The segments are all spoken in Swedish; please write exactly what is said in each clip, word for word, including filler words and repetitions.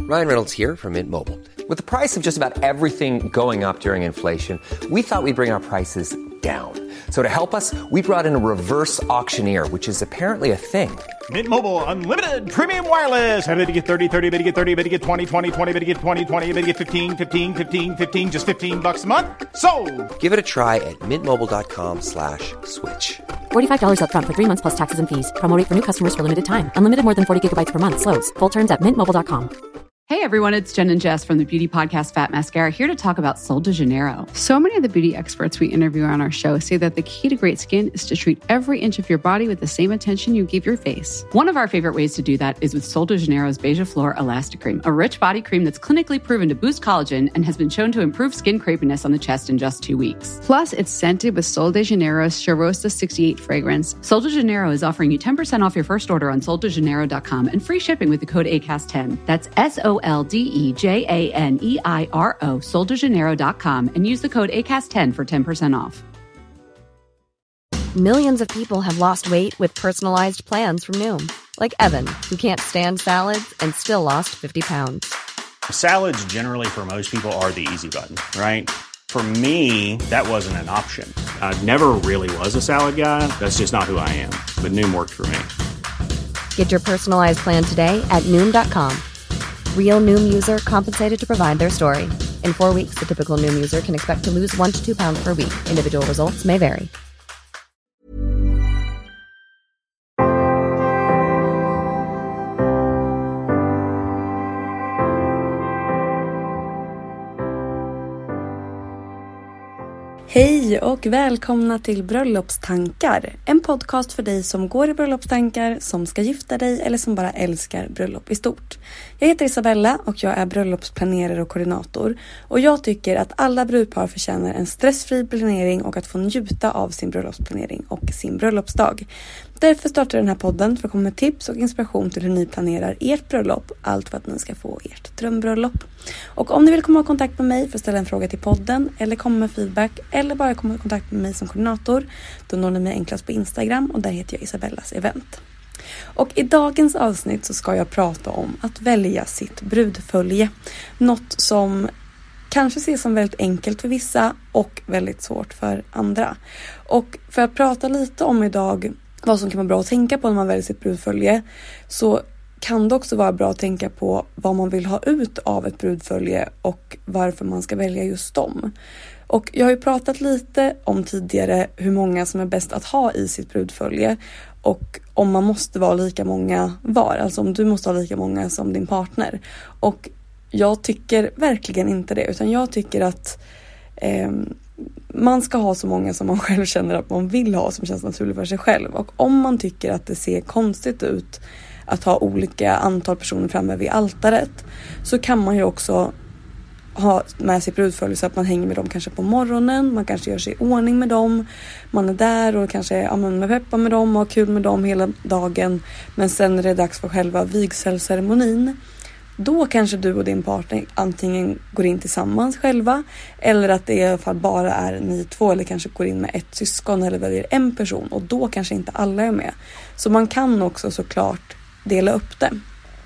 Ryan Reynolds here from Mint Mobile. With the price of just about everything going up during inflation, we thought we'd bring our prices down. So to help us, we brought in a reverse auctioneer, which is apparently a thing. Mint Mobile Unlimited Premium Wireless. How to get thirty, thirty, how to get thirty, how to get twenty, twenty, twenty, how to get twenty, twenty, how to get fifteen, fifteen, fifteen, fifteen, just fifteen bucks a month? Sold! Give it a try at mintmobile.com slash switch. forty-five dollars up front for three months plus taxes and fees. Promo rate for new customers for limited time. Unlimited more than forty gigabytes per month. Slows full terms at mint mobile dot com. Hey everyone, it's Jen and Jess from the beauty podcast Fat Mascara here to talk about Sol de Janeiro. So many of the beauty experts we interview on our show say that the key to great skin is to treat every inch of your body with the same attention you give your face. One of our favorite ways to do that is with Sol de Janeiro's Beija Flor Elastic Cream, a rich body cream that's clinically proven to boost collagen and has been shown to improve skin crepiness on the chest in just two weeks. Plus, it's scented with Sol de Janeiro's Charosta sixty-eight fragrance. Sol de Janeiro is offering you ten percent off your first order on sol de janeiro dot com and free shipping with the code A C A S T ten. That's S O L D E J A N E I R O, sol de janeiro dot com, and use the code A C A S T ten for ten percent off. Millions of people have lost weight with personalized plans from Noom. Like Evan, who can't stand salads and still lost fifty pounds. Salads generally for most people are the easy button, right? For me, that wasn't an option. I never really was a salad guy. That's just not who I am. But Noom worked for me. Get your personalized plan today at Noom dot com. Real Noom user compensated to provide their story. In four weeks, the typical Noom user can expect to lose one to two pounds per week. Individual results may vary. Hej och välkomna till Bröllopstankar. En podcast för dig som går i bröllopstankar, som ska gifta dig eller som bara älskar bröllop i stort. Jag heter Isabella och jag är bröllopsplanerare och koordinator. Och jag tycker att alla brudpar förtjänar en stressfri planering och att få njuta av sin bröllopsplanering och sin bröllopsdag. Därför startar den här podden för att komma med tips och inspiration till hur ni planerar ert bröllop. Allt för att ni ska få ert drömbröllop. Och om ni vill komma i kontakt med mig för att ställa en fråga till podden eller komma med feedback eller bara komma i kontakt med mig som koordinator, då når ni mig enklast på Instagram och där heter jag Isabellas event. Och i dagens avsnitt så ska jag prata om att välja sitt brudfölje. Något som kanske ses som väldigt enkelt för vissa och väldigt svårt för andra. Och för att prata lite om idag vad som kan vara bra att tänka på när man väljer sitt brudfölje, så kan det också vara bra att tänka på vad man vill ha ut av ett brudfölje och varför man ska välja just dem. Och jag har ju pratat lite om tidigare hur många som är bäst att ha i sitt brudfölje och om man måste vara lika många var, alltså om du måste ha lika många som din partner. Och jag tycker verkligen inte det, utan jag tycker att eh, man ska ha så många som man själv känner att man vill ha, som känns naturligt för sig själv. Och om man tycker att det ser konstigt ut att ha olika antal personer framme vid altaret, så kan man ju också ha med sig brudfölje så att man hänger med dem kanske på morgonen, man kanske gör sig i ordning med dem, man är där och kanske ja, man med peppa med dem och har kul med dem hela dagen, men sen är det dags för själva vigselceremonin. Då kanske du och din partner antingen går in tillsammans själva, eller att det i alla fall bara är ni två, eller kanske går in med ett syskon eller väljer en person, och då kanske inte alla är med. Så man kan också såklart dela upp det.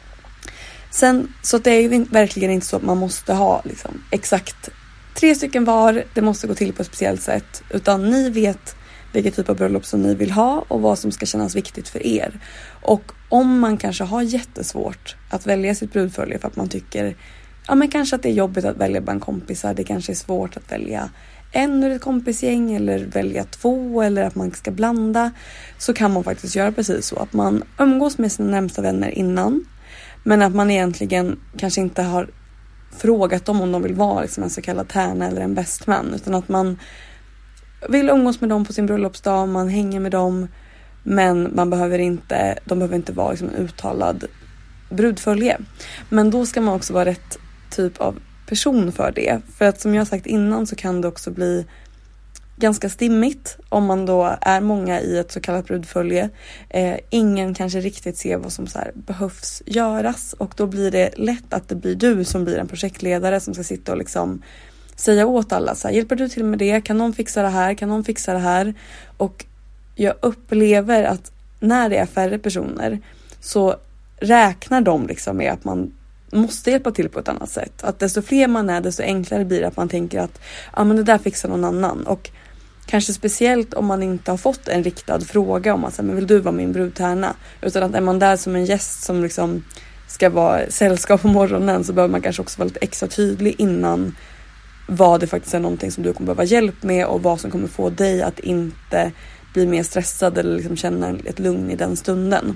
Sen, så det är ju verkligen inte så att man måste ha liksom exakt tre stycken var, det måste gå till på ett speciellt sätt, utan ni vet vilken typ av bröllop som ni vill ha och vad som ska kännas viktigt för er. Och om man kanske har jättesvårt att välja sitt brudfölje för att man tycker ja men kanske att det är jobbigt att välja bland kompisar, det kanske är svårt att välja en ur ett kompisgäng eller välja två, eller att man ska blanda, så kan man faktiskt göra precis så att man umgås med sina närmsta vänner innan, men att man egentligen kanske inte har frågat dem om de vill vara liksom en så kallad tärna eller en best man, utan att man vill umgås med dem på sin bröllopsdag, man hänger med dem, men man behöver inte, de behöver inte vara liksom en uttalad brudfölje. Men då ska man också vara rätt typ av person för det. För att som jag sagt innan så kan det också bli ganska stimmigt om man då är många i ett så kallat brudfölje. Eh, ingen kanske riktigt ser vad som så här behövs göras, och då blir det lätt att det blir du som blir en projektledare som ska sitta och liksom säga åt alla så här, hjälper du till med det? Kan någon fixa det här? Kan någon fixa det här? Och jag upplever att när det är färre personer så räknar de liksom med att man måste hjälpa till på ett annat sätt. Att desto fler man är, desto enklare blir det att man tänker att ja, men det där fixar någon annan. Och kanske speciellt om man inte har fått en riktad fråga om att men vill du vara min brudtärna? Utan att är man där som en gäst som liksom ska vara sällskap på morgonen, så behöver man kanske också vara lite extra tydlig innan vad det faktiskt är någonting som du kommer behöva hjälp med och vad som kommer få dig att inte bli mer stressad eller liksom känna ett lugn i den stunden.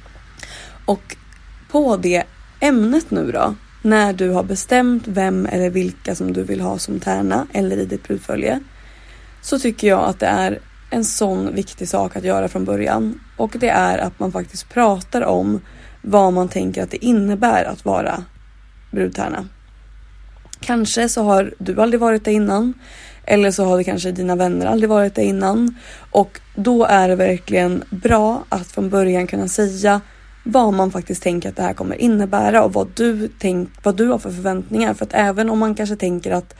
Och på det ämnet nu då, när du har bestämt vem eller vilka som du vill ha som tärna eller i ditt brudfölje, så tycker jag att det är en sån viktig sak att göra från början. Och det är att man faktiskt pratar om vad man tänker att det innebär att vara brudtärna. Kanske så har du aldrig varit det innan. Eller så har det kanske dina vänner aldrig varit det innan. Och då är det verkligen bra att från början kunna säga vad man faktiskt tänker att det här kommer innebära. Och vad du, tänk, vad du har för förväntningar. För att även om man kanske tänker att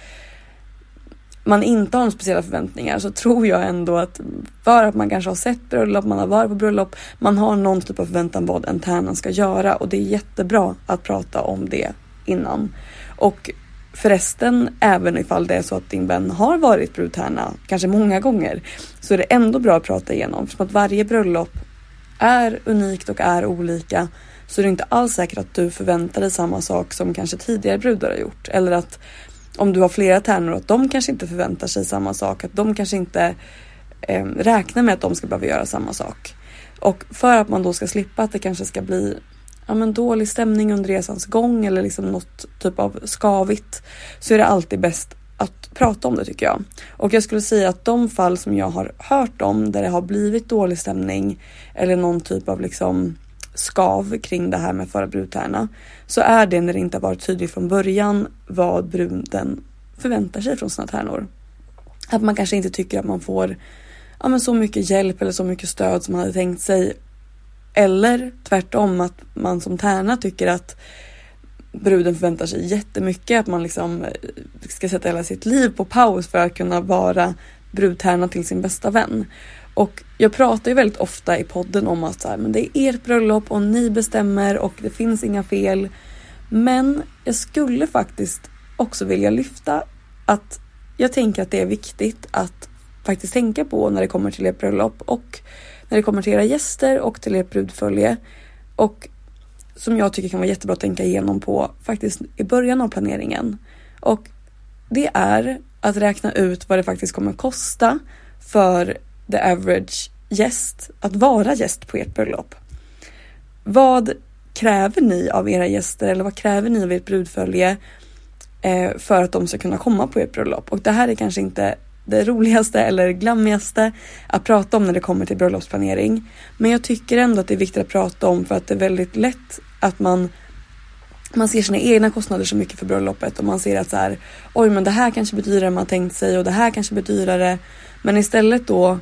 man inte har några speciella förväntningar, så tror jag ändå att för att man kanske har sett bröllop, man har varit på bröllop, man har någon typ av förväntan vad en tärna ska göra. Och det är jättebra att prata om det innan. Och förresten, även ifall det är så att din vän har varit brudtärna kanske många gånger, så är det ändå bra att prata igenom. För att varje bröllop är unikt och är olika, så är det inte alls säkert att du förväntar dig samma sak som kanske tidigare brudar har gjort. Eller att om du har flera tärnor, att de kanske inte förväntar sig samma sak. Att de kanske inte eh, räknar med att de ska behöva göra samma sak. Och för att man då ska slippa att det kanske ska bli ja, men dålig stämning under resans gång, eller liksom något typ av skavigt, så är det alltid bäst att prata om det, tycker jag. Och jag skulle säga att de fall som jag har hört om där det har blivit dålig stämning eller någon typ av liksom skav kring det här med att vara brudtärna, så är det när det inte har varit tydligt från början vad bruden förväntar sig från sina tärnor. Att man kanske inte tycker att man får ja, men så mycket hjälp eller så mycket stöd som man hade tänkt sig. Eller tvärtom, att man som tärna tycker att bruden förväntar sig jättemycket, att man liksom ska sätta hela sitt liv på paus för att kunna vara brudtärna till sin bästa vän. Och jag pratar ju väldigt ofta i podden om att så här, men det är ert bröllop och ni bestämmer och det finns inga fel. Men jag skulle faktiskt också vilja lyfta att jag tänker att det är viktigt att faktiskt tänka på när det kommer till ert bröllop och när det kommer till era gäster och till ert brudfölje. Och som jag tycker kan vara jättebra att tänka igenom på faktiskt i början av planeringen. Och det är att räkna ut vad det faktiskt kommer kosta för the average gäst att vara gäst på ert bröllop. Vad kräver ni av era gäster, eller vad kräver ni av ert brudfölje eh, för att de ska kunna komma på ert bröllop? Och det här är kanske inte det roligaste eller glammigaste att prata om när det kommer till bröllopsplanering. Men jag tycker ändå att det är viktigt att prata om, för att det är väldigt lätt att man man ser sina egna kostnader så mycket för bröllopet, och man ser att så här, oj men det här kanske blir dyrare än man tänkt sig och det här kanske blir dyrare. Men istället då,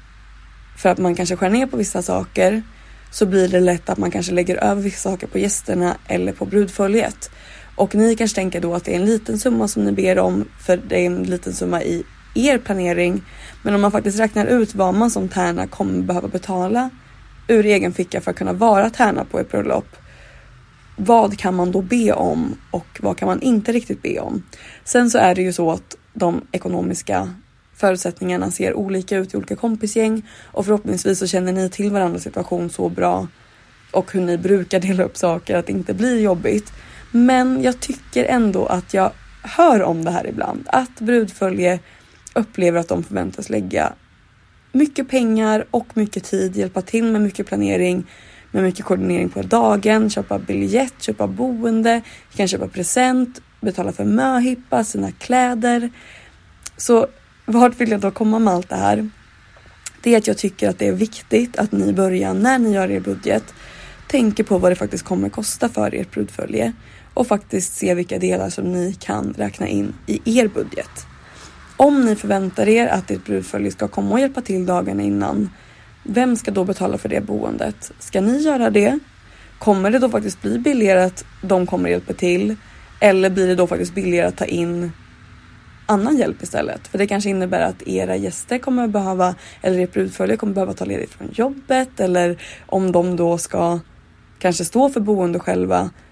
för att man kanske skär ner på vissa saker, så blir det lätt att man kanske lägger över vissa saker på gästerna eller på brudföljet. Och ni kanske tänker då att det är en liten summa som ni ber om, för det är en liten summa i er planering. Men om man faktiskt räknar ut vad man som tärna kommer behöva betala ur egen ficka för att kunna vara tärna på ett bröllop, vad kan man då be om och vad kan man inte riktigt be om? Sen så är det ju så att de ekonomiska förutsättningarna ser olika ut i olika kompisgäng, och förhoppningsvis så känner ni till varandras situation så bra och hur ni brukar dela upp saker att det inte blir jobbigt. Men jag tycker ändå att jag hör om det här ibland, att brudfölje upplever att de förväntas lägga mycket pengar och mycket tid, hjälpa till med mycket planering, med mycket koordinering på dagen, köpa biljett, köpa boende, kan köpa present, betala för möhippa, sina kläder. Så vart vill jag då komma med allt det här? Det är att jag tycker att det är viktigt att ni börjar, när ni gör er budget, tänker på vad det faktiskt kommer kosta för ert brudfölje och faktiskt se vilka delar som ni kan räkna in i er budget. Om ni förväntar er att ert brudfölje ska komma och hjälpa till dagarna innan, vem ska då betala för det boendet? Ska ni göra det? Kommer det då faktiskt bli billigare att de kommer hjälpa till? Eller blir det då faktiskt billigare att ta in annan hjälp istället? För det kanske innebär att era gäster kommer behöva, eller ert brudfölje kommer behöva ta ledigt från jobbet. Eller om de då ska kanske stå för boende själva,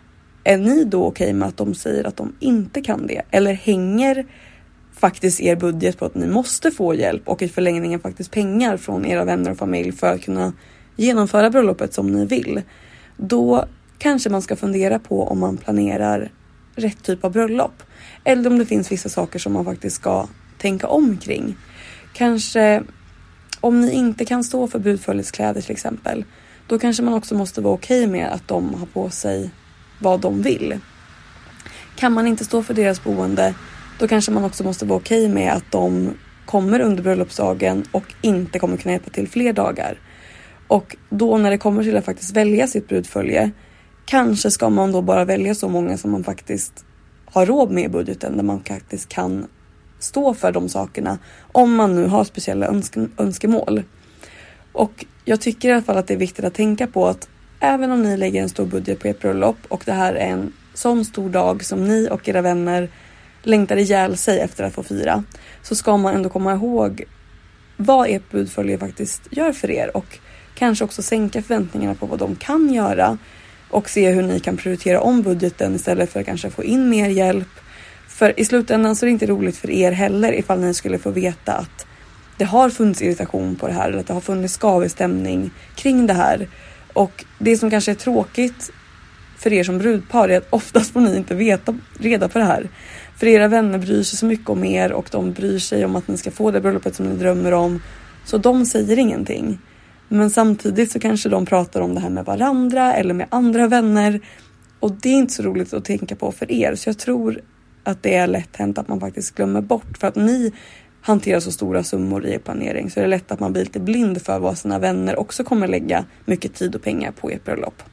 är ni då okej med att de säger att de inte kan det? Eller hänger faktiskt er budget på att ni måste få hjälp och i förlängningen faktiskt pengar från era vänner och familj för att kunna genomföra bröllopet som ni vill? Då kanske man ska fundera på om man planerar rätt typ av bröllop. Eller om det finns vissa saker som man faktiskt ska tänka om kring. Kanske om ni inte kan stå för brudföljetskläder till exempel. Då kanske man också måste vara okej med att de har på sig vad de vill. Kan man inte stå för deras boende, då kanske man också måste vara okej med att de kommer under bröllopsdagen och inte kommer kunna hjälpa till fler dagar. Och då när det kommer till att faktiskt välja sitt brudfölje, kanske ska man då bara välja så många som man faktiskt har råd med i budgeten, där man faktiskt kan stå för de sakerna om man nu har speciella önske- önskemål. Och jag tycker i alla fall att det är viktigt att tänka på att även om ni lägger en stor budget på ert bröllop och det här är en sån stor dag som ni och era vänner längtar ihjäl sig efter att få fira, så ska man ändå komma ihåg vad ert brudfölje faktiskt gör för er och kanske också sänka förväntningarna på vad de kan göra och se hur ni kan prioritera om budgeten istället för att kanske få in mer hjälp. För i slutändan så är det inte roligt för er heller ifall ni skulle få veta att det har funnits irritation på det här eller att det har funnits skavig stämning kring det här. Och det som kanske är tråkigt för er som brudpar är att oftast får ni inte veta reda på det här. För era vänner bryr sig så mycket om er och de bryr sig om att ni ska få det bröllopet som ni drömmer om. Så de säger ingenting. Men samtidigt så kanske de pratar om det här med varandra eller med andra vänner. Och det är inte så roligt att tänka på för er. Så jag tror att det är lätt hänt att man faktiskt glömmer bort. För att ni hanterar så stora summor i er planering, så är det lätt att man blir lite blind för vad sina vänner också kommer lägga mycket tid och pengar på ert bröllop.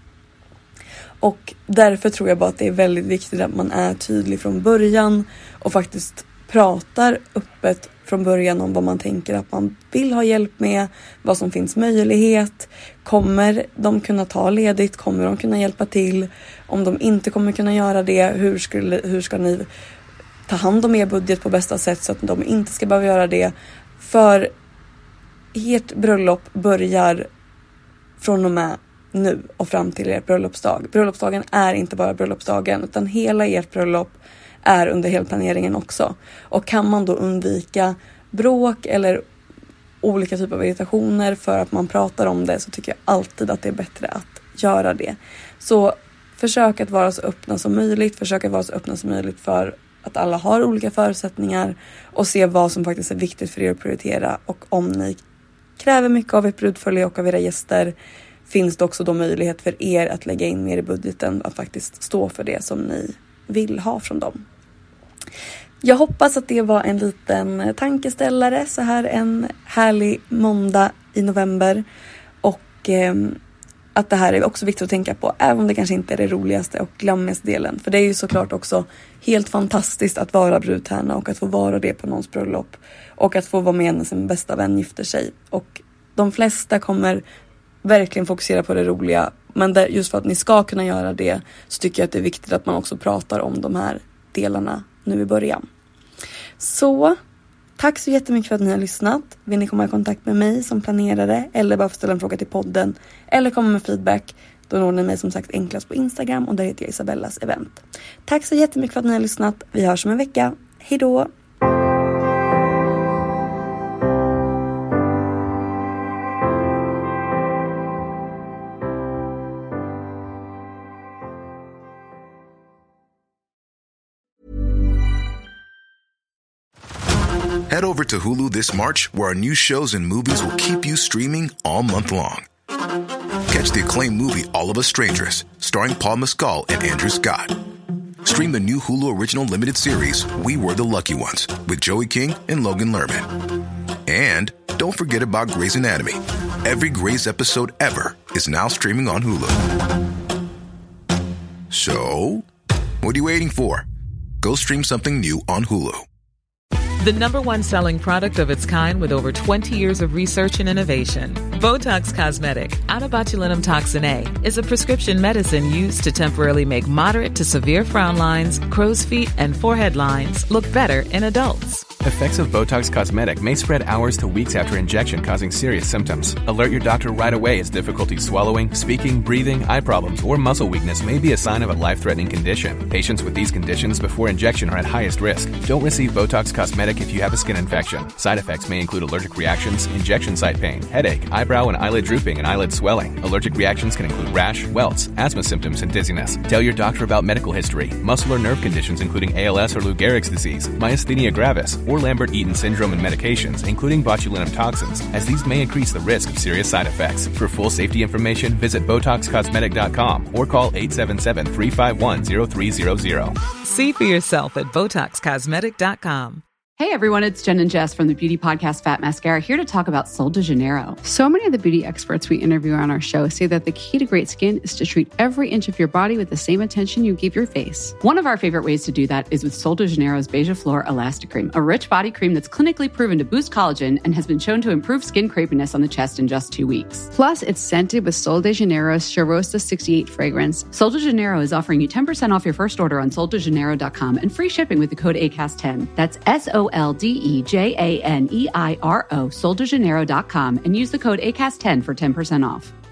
Och därför tror jag bara att det är väldigt viktigt att man är tydlig från början och faktiskt pratar öppet från början om vad man tänker att man vill ha hjälp med, vad som finns möjlighet. Kommer de kunna ta ledigt? Kommer de kunna hjälpa till? Om de inte kommer kunna göra det, hur, skulle, hur ska ni ta hand om er budget på bästa sätt så att de inte ska behöva göra det? För ert bröllop börjar från och med nu och fram till er bröllopsdag. Bröllopsdagen är inte bara bröllopsdagen, utan hela ert bröllop är under hela planeringen också. Och kan man då undvika bråk eller olika typer av irritationer för att man pratar om det, så tycker jag alltid att det är bättre att göra det. Så försök att vara så öppna som möjligt. Försök att vara så öppna som möjligt för att alla har olika förutsättningar och se vad som faktiskt är viktigt för er att prioritera. Och om ni kräver mycket av ert brudfölje och av era gäster, finns det också då möjlighet för er att lägga in mer i budgeten, att faktiskt stå för det som ni vill ha från dem. Jag hoppas att det var en liten tankeställare så här en härlig måndag i november. Och eh, att det här är också viktigt att tänka på, även om det kanske inte är det roligaste och glammigaste delen. För det är ju såklart också helt fantastiskt att vara brudtärna och att få vara det på någons bröllop. Och att få vara med när sin bästa vän gifter sig. Och de flesta kommer verkligen fokusera på det roliga. Men där, just för att ni ska kunna göra det, så tycker jag att det är viktigt att man också pratar om de här delarna nu i början. Så tack så jättemycket för att ni har lyssnat. Vill ni komma i kontakt med mig som planerare eller bara få ställa en fråga till podden eller komma med feedback, då når ni mig som sagt enklast på Instagram och där heter jag Isabellas event. Tack så jättemycket för att ni har lyssnat. Vi hörs om en vecka. Hej då! Head over to Hulu this March, where our new shows and movies will keep you streaming all month long. Catch the acclaimed movie All of Us Strangers, starring Paul Mescal and Andrew Scott. Stream the new Hulu original limited series We Were the Lucky Ones with Joey King and Logan Lerman. And don't forget about Grey's Anatomy. Every Grey's episode ever is now streaming on Hulu. So, what are you waiting for? Go stream something new on Hulu. The number one selling product of its kind with over twenty years of research and innovation. Botox Cosmetic, out of botulinum toxin A, is a prescription medicine used to temporarily make moderate to severe frown lines, crow's feet, and forehead lines look better in adults. Effects of Botox Cosmetic may spread hours to weeks after injection, causing serious symptoms. Alert your doctor right away as difficulty swallowing, speaking, breathing, eye problems, or muscle weakness may be a sign of a life-threatening condition. Patients with these conditions before injection are at highest risk. Don't receive Botox Cosmetic if you have a skin infection. Side effects may include allergic reactions, injection site pain, headache, eyebrow and eyelid drooping, and eyelid swelling. Allergic reactions can include rash, welts, asthma symptoms, and dizziness. Tell your doctor about medical history, muscle or nerve conditions including A L S or Lou Gehrig's disease, myasthenia gravis, or Lambert-Eaton syndrome, and medications, including botulinum toxins, as these may increase the risk of serious side effects. For full safety information, visit Botox Cosmetic dot com or call eight seven seven, three five one, zero three zero zero. See for yourself at Botox Cosmetic dot com. Hey everyone, it's Jen and Jess from the beauty podcast Fat Mascara here to talk about Sol de Janeiro. So many of the beauty experts we interview on our show say that the key to great skin is to treat every inch of your body with the same attention you give your face. One of our favorite ways to do that is with Sol de Janeiro's Beija Flor Elastic Cream, a rich body cream that's clinically proven to boost collagen and has been shown to improve skin crepiness on the chest in just two weeks. Plus, it's scented with Sol de Janeiro's Charosta sixty-eight fragrance. Sol de Janeiro is offering you ten percent off your first order on sol de janeiro dot com and free shipping with the code A C A S T ten. That's S O L D E J A N E I R O, sol de janeiro dot com, and use the code A C A S ten for ten percent off.